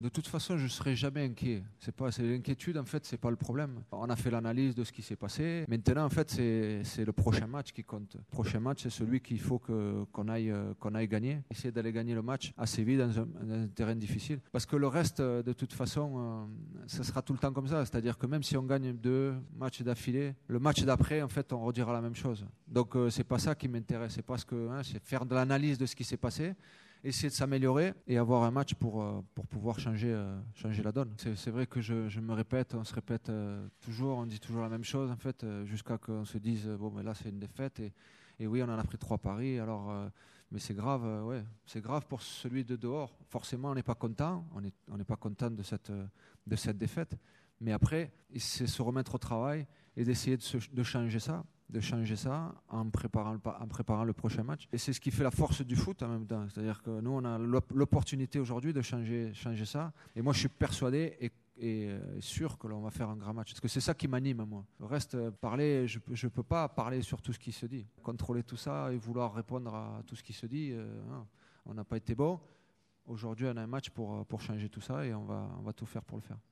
De toute façon, je ne serai jamais inquiet. C'est l'inquiétude, en fait, c'est pas le problème. On a fait l'analyse de ce qui s'est passé. Maintenant, en fait, c'est le prochain match qui compte. Le prochain match, c'est celui qu'il faut qu'on aille gagner. Essayer d'aller gagner le match assez vite dans un terrain difficile. Parce que le reste, de toute façon, ça sera tout le temps comme ça. C'est-à-dire que même si on gagne 2 matchs d'affilée, le match d'après, en fait, on redira la même chose. Donc, c'est pas ça qui m'intéresse. C'est parce que c'est faire de l'analyse de ce qui s'est passé, essayer de s'améliorer et avoir un match pour pouvoir changer la donne. C'est vrai que je me répète, on se répète toujours, on dit toujours la même chose en fait, jusqu'à qu'on se dise bon mais là c'est une défaite et oui on en a pris 3 paris alors mais c'est grave, ouais, c'est grave pour celui de dehors. Forcément on n'est pas content, on n'est pas content de cette défaite, mais après c'est se remettre au travail et d'essayer de changer ça. En préparant le prochain match. Et c'est ce qui fait la force du foot en même temps. C'est-à-dire que nous, on a l'opportunité aujourd'hui de changer ça. Et moi, je suis persuadé et sûr que l'on va faire un grand match. Parce que c'est ça qui m'anime, moi. Le reste, parler, je ne peux pas parler sur tout ce qui se dit. Contrôler tout ça et vouloir répondre à tout ce qui se dit, non. On n'a pas été bon. Aujourd'hui, on a un match pour changer tout ça et on va tout faire pour le faire.